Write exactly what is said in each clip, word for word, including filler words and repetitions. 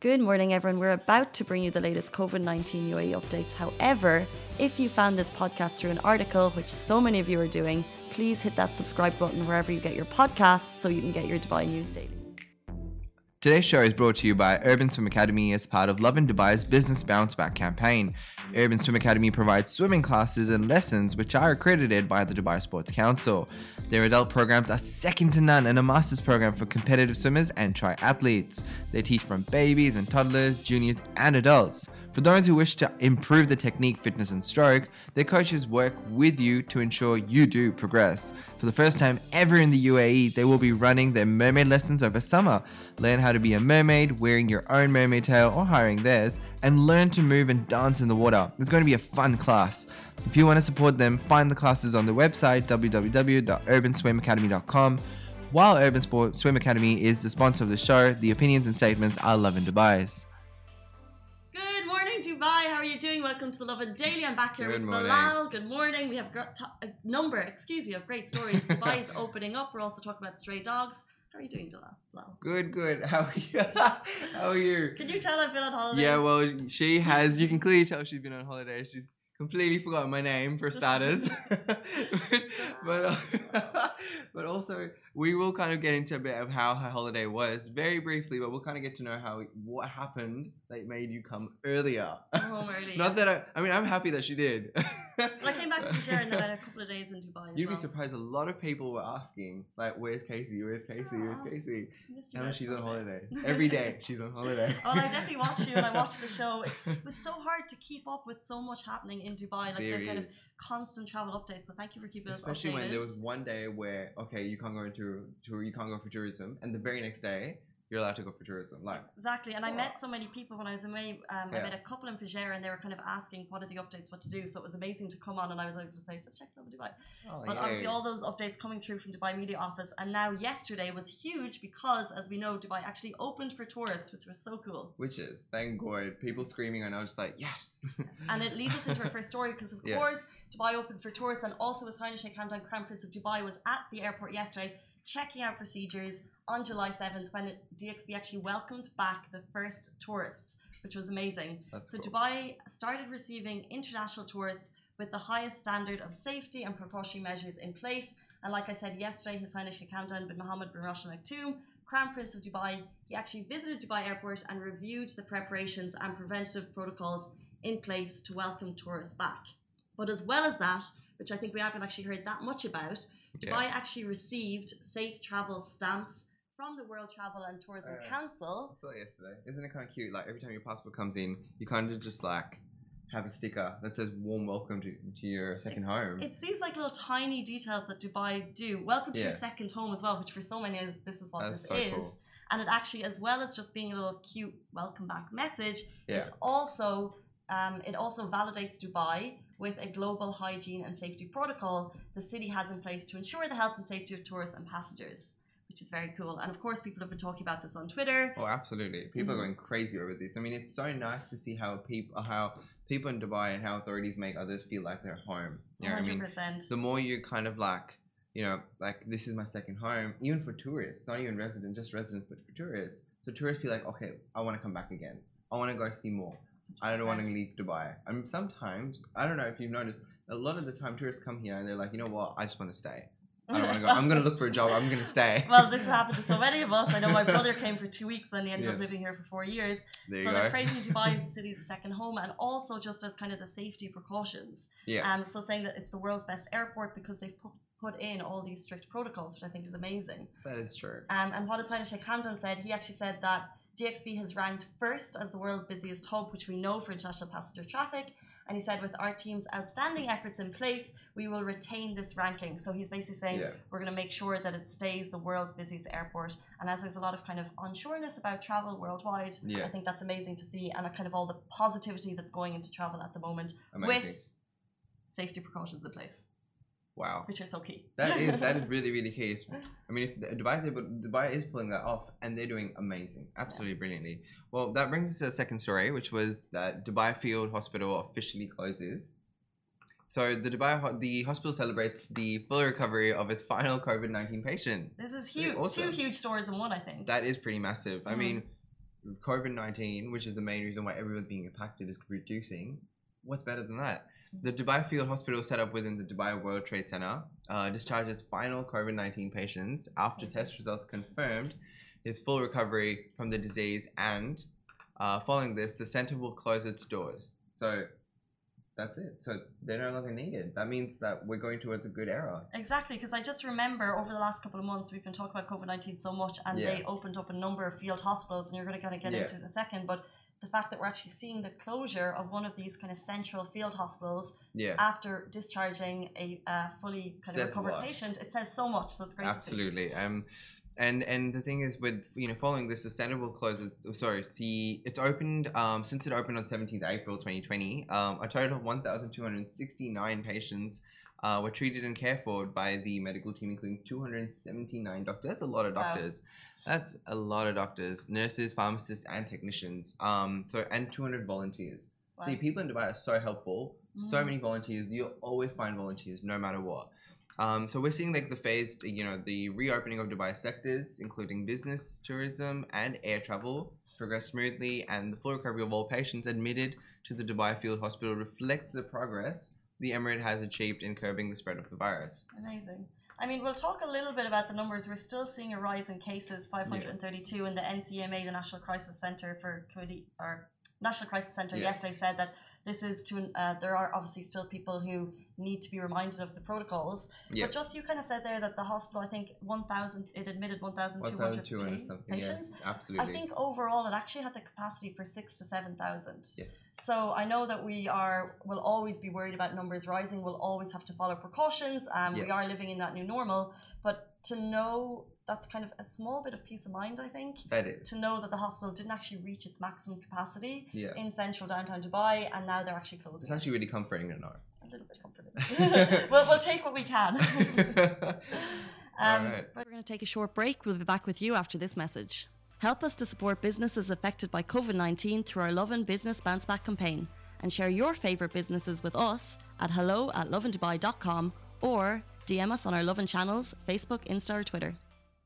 Good morning, everyone. We're about to bring you the latest COVID nineteen U A E updates. However, if you found this podcast through an article, which so many of you are doing, please hit that subscribe button wherever you get your podcasts so you can get your Dubai news daily. Today's show is brought to you by Urban Swim Academy as part of Lovin Dubai's Business Bounce Back campaign. Urban Swim Academy provides swimming classes and lessons which are accredited by the Dubai Sports Council. Their adult programs are second to none and a master's program for competitive swimmers and triathletes. They teach from babies and toddlers, juniors and adults. For those who wish to improve the technique, fitness and stroke, their coaches work with you to ensure you do progress. For the first time ever in the U A E, they will be running their mermaid lessons over summer. Learn how to be a mermaid, wearing your own mermaid tail or hiring theirs, and learn to move and dance in the water. It's going to be a fun class. If you want to support them, find the classes on their website w w w dot urban swim academy dot com. While Urban Sport Swim Academy is the sponsor of the show, the opinions and statements are Lovin Dubai's. Good morning, Dubai. How are you doing? Welcome to the Lovin Daily. I'm back here Good with morning. Bilal. Good morning. We have gr- t- a number, excuse me, of great stories. Dubai is opening up. We're also talking about stray dogs. How are you doing, Bilal? Good, good. How are you? How are you? Can you tell I've been on holidays? Yeah, well, she has. You can clearly tell she's been on holiday. She's completely forgotten my name for starters. but uh, but also, we will kind of get into a bit of how her holiday was very briefly, but we'll kind of get to know how what happened that made you come earlier. Home early. Not that I. I mean, I'm happy that she did. Well, I came back from Share and then I had a couple of days in Dubai. You'd as be well. surprised. A lot of people were asking, like, "Where's Casey? Where's Casey? Where's Aw. Casey?" Missed you Now guys she's for on a bit. holiday. Every day she's on holiday. Oh, and I definitely watched you and I watched the show. It's, it was so hard to keep up with so much happening in Dubai, like There the kind of is. constant travel updates. So thank you for keeping Especially us updated. when there was one day where okay, you can't go into tour, you can't go for tourism, and the very next day you're allowed to go for tourism. Like Exactly, and I Wow. met so many people when I was away. Um, I Yeah. met a couple in Fujairah, and they were kind of asking what are the updates, what to do. So it was amazing to come on, and I was able to say, just check Lovin Dubai. oh, But yay. obviously, all those updates coming through from Dubai Media Office, and now yesterday was huge because, as we know, Dubai actually opened for tourists, which was so cool. Which is thank God, people screaming, and I was just like yes. And it leads us into our first story because, of Yes. course, Dubai opened for tourists, and also His Highness Sheikh Hamdan, Crown Prince of Dubai, was at the airport yesterday checking out procedures on July seventh when D X B actually welcomed back the first tourists, which was amazing. That's So cool. Dubai started receiving international tourists with the highest standard of safety and precautionary measures in place. And like I said yesterday, His Highness Sheikh Hamdan bin Mohammed bin Rashid Al Maktoum, Crown Prince of Dubai, he actually visited Dubai Airport and reviewed the preparations and preventative protocols in place to welcome tourists back. But as well as that, which I think we haven't actually heard that much about, Dubai Yeah. actually received safe travel stamps from the World Travel and Tourism Uh, Council. I saw it yesterday. Isn't it kind of cute? Like every time your passport comes in, you kind of just like have a sticker that says "Warm welcome to, to your second home." It's these like little tiny details that Dubai do. Welcome to your Yeah. second home as well, which for so many is this is what That's this so is. cool. And it actually, as well as just being a little cute welcome back message, Yeah. it's also um, it also validates Dubai with a global hygiene and safety protocol the city has in place to ensure the health and safety of tourists and passengers, which is very cool. And of course, people have been talking about this on Twitter. Oh, absolutely. People Mhm. are going crazy over this. I mean, it's so nice to see how people, how people in Dubai and how authorities make others feel like they're home. You know what I mean? one hundred percent. The more you kind of like, you know, like this is my second home, even for tourists, not even residents, just residents, but for tourists. So tourists feel like, okay, I want to come back again. I want to go see more. I don't want to leave Dubai. I mean, sometimes, I don't know if you've noticed, a lot of the time tourists come here and they're like, you know what, I just want to stay. I don't want to go. I'm going to look for a job. I'm going to stay. Well, this has happened to so many of us. I know my brother came for two weeks and he ended Yeah. up living here for four years. There you So go. they're praising Dubai as the city's second home and also just as kind of the safety precautions. Yeah. Um, so saying that it's the world's best airport because they've put, put in all these strict protocols, which I think is amazing. That is true. Um, and what His Highness Sheikh Hamdan said, he actually said that D X B has ranked first as the world's busiest hub, which we know for international passenger traffic. And he said, with our team's outstanding efforts in place, we will retain this ranking. So he's basically saying, Yeah. we're going to make sure that it stays the world's busiest airport. And as there's a lot of kind of unsureness about travel worldwide, Yeah. I think that's amazing to see. And a kind of all the positivity that's going into travel at the moment Amazing. with safety precautions in place, Wow. which are so key. That is that is really really key. I mean, if the- Dubai is able, Dubai is pulling that off, and they're doing amazing, absolutely brilliantly. Well, that brings us to the second story, which was that Dubai Field Hospital officially closes. So the Dubai ho- the hospital celebrates the full recovery of its final COVID nineteen patient. This is Pretty huge. awesome. Two huge stories in one, I think. That is pretty massive. I Mhm. mean, COVID nineteen, which is the main reason why everyone's being impacted, is reducing, what's better than that? The Dubai Field Hospital, set up within the Dubai World Trade Center, uh, discharges final COVID nineteen patients after test results confirmed his full recovery from the disease, and uh, following this, the center will close its doors. So that's it. So they're no longer needed. That means that we're going towards a good era. Exactly, because I just remember over the last couple of months we've been talking about COVID nineteen so much, and Yeah. they opened up a number of field hospitals, and you're going to kind of get Yeah. into it in a second, but the fact that we're actually seeing the closure of one of these kind of central field hospitals Yeah. after discharging a uh, fully kind of Says a recovered lot. patient, it says so much, so it's great Absolutely. Um, and and the thing is, with you know following this, the center will close. It, sorry, the it's opened um since it opened on seventeenth April twenty twenty. Um, a total of one thousand two hundred sixty-nine patients uh, were treated and cared for by the medical team, including two hundred seventy-nine doctors. That's a lot of Wow. doctors. That's a lot of doctors, nurses, pharmacists, and technicians. Um, so and two hundred volunteers. see. Wow. See, people in Dubai are so helpful. So Mhm. many volunteers. You'll always find volunteers, no matter what. Um, so we're seeing like the phased, you know, the reopening of Dubai sectors, including business, tourism, and air travel, progress smoothly, and the full recovery of all patients admitted to the Dubai Field Hospital reflects the progress the Emirate has achieved in curbing the spread of the virus. Amazing. I mean, we'll talk a little bit about the numbers. We're still seeing a rise in cases, five hundred thirty-two, and the N C M A, the National Crisis Center for Committee, or National Crisis Center, Yeah. yesterday said that this is to, uh, there are obviously still people who need to be reminded of the protocols. Yeah. But just you kind of said there that the hospital, I think one thousand, it admitted one thousand two hundred one thousand two hundred something, yes, patients. absolutely. I think overall it actually had the capacity for six to seven thousand. Yes. So I know that we are will always be worried about numbers rising. We'll always have to follow precautions. Um, We Yeah. are living in that new normal, but to know that's kind of a small bit of peace of mind, I think. That is. To know that the hospital didn't actually reach its maximum capacity Yeah. in central downtown Dubai, and now they're actually closing. It's actually it. really comforting to know. A little bit comforting. we'll, we'll take what we can. um, Alright. We're going to take a short break. We'll be back with you after this message. Help us to support businesses affected by COVID nineteen through our Love and Business Bounce Back campaign, and share your favourite businesses with us at hello at loveanddubai dot com or D M us on our Love and channels, Facebook, Insta or Twitter.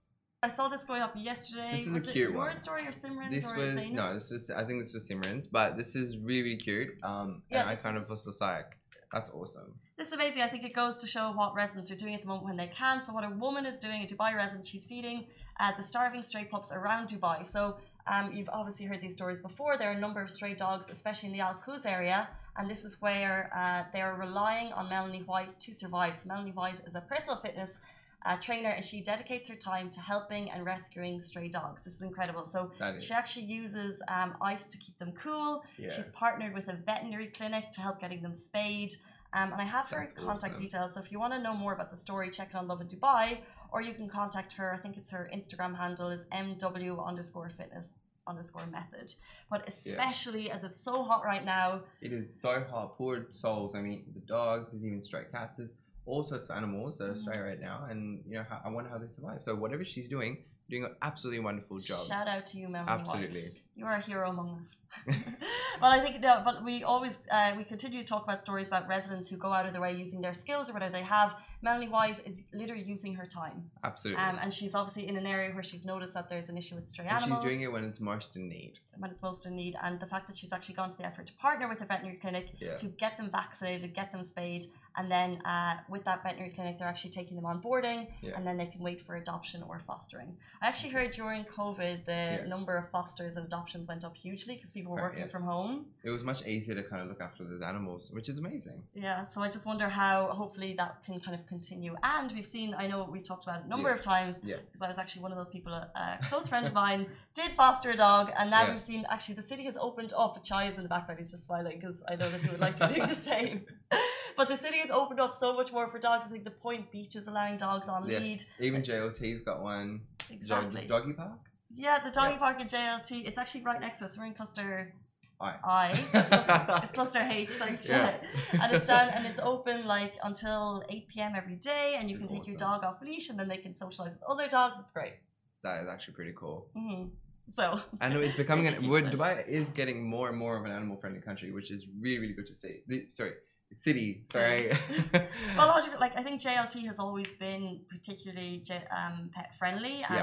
I saw this going up yesterday. This is a was it cute your one. story or Simran's This or was Zainab's? no, this was I think this was Simran's, but this is really, really cute. Um, Yeah, and I this kind is- of was just like, that's awesome. This is amazing. I think it goes to show what residents are doing at the moment when they can. So what a woman is doing, a Dubai resident, she's feeding uh, the starving stray pups around Dubai. So um, you've obviously heard these stories before. There are a number of stray dogs, especially in the Al Quoz area. And this is where uh, they are relying on Melanie White to survive. So Melanie White is a personal fitness uh, trainer, and she dedicates her time to helping and rescuing stray dogs. This is incredible. So That is. she actually uses um, ice to keep them cool. Yeah. She's partnered with a veterinary clinic to help getting them spayed. Um, and I have her That's contact awesome. details. So if you want to know more about the story, check it on Love in Dubai, or you can contact her. I think it's her Instagram handle is mw underscore fitness underscore method. But especially as it's so hot right now, It is so hot. Poor souls. I mean, the dogs, there's even stray cats, there's all sorts of animals that are Mhm. stray right now, and you know, how, I wonder how they survive. So whatever she's doing, doing an absolutely wonderful job. shout out to you, Melanie Absolutely. White. You are a hero among us. Well, I think no, but we always uh, we continue to talk about stories about residents who go out of their way using their skills or whatever they have. Melanie White is literally using her time, Absolutely. um, and she's obviously in an area where she's noticed that there's an issue with stray and animals. she's doing it when it's most in need. when it's most in need, and the fact that she's actually gone to the effort to partner with a veterinary clinic Yeah. to get them vaccinated, get them spayed, and then uh, with that veterinary clinic they're actually taking them on boarding, Yeah. and then they can wait for adoption or fostering. I actually heard during COVID the Yeah. number of fosters and adoptions went up hugely because people were Right, working yes. from home. It was much easier to kind of look after those animals, which is amazing. Yeah, so I just wonder how hopefully that can kind of continue. And we've seen, I know we talked about it a number Yeah. of times, Yeah. because I was actually one of those people, a close friend of mine did foster a dog, and now Yeah. we've seen actually the city has opened up. Chai is in the background, he's just smiling because I know that he would like to be doing the same. But the city has opened up so much more for dogs. I think the Point Beach is allowing dogs on lead. Yes. Even J L T's got one. Exactly. Jog- Doggy Park? Yeah, the doggy Yeah. park in J L T, it's actually right next to us. We're in cluster Aye. I, so it's, cluster, it's cluster H, thanks Jay. Yeah. And it's down and it's open like until eight p m every day, and you Which can is take your awesome. dog off leash, and then they can socialize with other dogs. It's great. That is actually pretty cool. hmm So And it's becoming Thank an you we're- for it. Dubai is getting more and more of an animal friendly country, which is really, really good to see. The, sorry, city. Sorry. Well, a lot of it, like I think J L T has always been particularly J- um, pet friendly, Yeah. and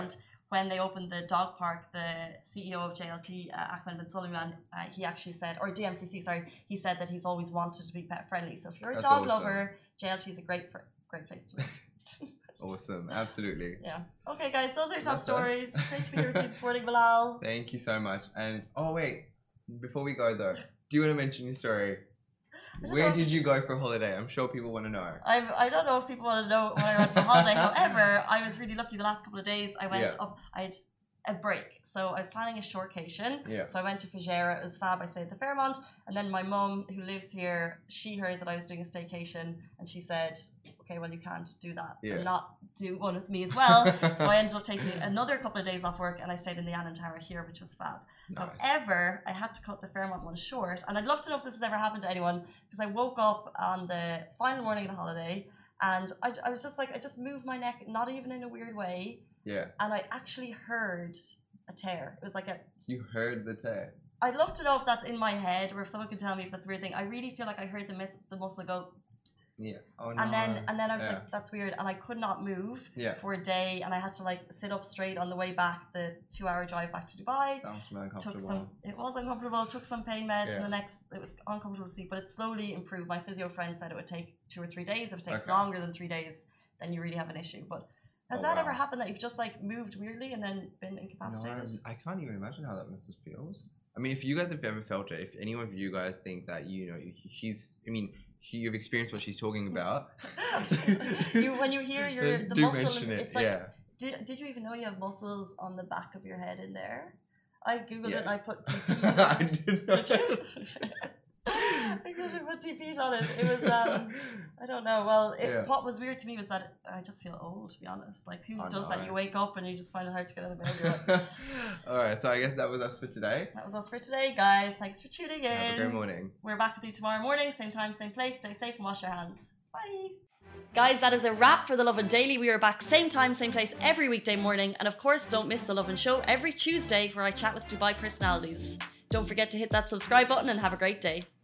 when they opened the dog park, the C E O of J L T, uh, Ahmed bin Suleiman, uh, he actually said, or D M C C, sorry, he said that he's always wanted to be pet friendly. So if you're a That's dog awesome. lover, J L T is a great, great place to live. Awesome, absolutely. Yeah. Okay, guys, those are your top That's stories. Great to be here with you this morning, Bilal. Thank you so much. And oh wait, before we go though, do you want to mention your story? Where did you go for holiday? I'm sure people want to know. I'm, I don't know if people want to know where I went for holiday. However, I was really lucky the last couple of days. I went Yeah. up, I had a break. So I was planning a shortcation. Yeah. So I went to Fujairah. It was fab. I stayed at the Fairmont. And then my mum, who lives here, she heard that I was doing a staycation. And she said, okay, well, you can't do that Yeah. and not do one with me as well. So I ended up taking another couple of days off work and I stayed in the Annan Tower here, which was fab. Nice. However, I had to cut the Fairmont one short. And I'd love to know if this has ever happened to anyone, because I woke up on the final morning of the holiday and I, I was just like, I just moved my neck, not even in a weird way. Yeah. And I actually heard a tear. It was like a... You heard the tear. I'd love to know if that's in my head or if someone can tell me if that's a weird thing. I really feel like I heard the, mis- the muscle go... Yeah. Oh no. And then and then I was Yeah. like, that's weird. And I could not move Yeah. for a day. And I had to like sit up straight on the way back, the two hour drive back to Dubai. That was really Took uncomfortable. some, it was uncomfortable, took some pain meds, Yeah. and the next, it was uncomfortable to sleep, but it slowly improved. My physio friend said it would take two or three days. If it takes Okay. longer than three days, then you really have an issue. But has Oh, that wow. ever happened that you've just like moved weirdly and then been incapacitated? No, I can't even imagine how that must feels. I mean, if you guys have ever felt it, if any of you guys think that, you know, she's, I mean, she, you've experienced what she's talking about. you, when you hear your, then the do muscle, mention it. it's like, yeah. did, did you even know you have muscles on the back of your head in there? I googled Yeah. it and I put T P. I did not. Did you? I googled it, put T P on it. It was, um, I don't know. Well, it, Yeah. what was weird to me was that I just feel old, to be honest. Like, who I does that? know. You wake up and you just find it hard to get out of bed. You're like, All right, so I guess that was us for today. that was us for today, guys. Thanks for tuning in. Have a great morning. We're back with you tomorrow morning, same time, same place. Stay safe and wash your hands. Bye. Guys, that is a wrap for The Lovin Daily. We are back same time, same place every weekday morning. And of course, don't miss The Lovin Show every Tuesday where I chat with Dubai personalities. Don't forget to hit that subscribe button and have a great day.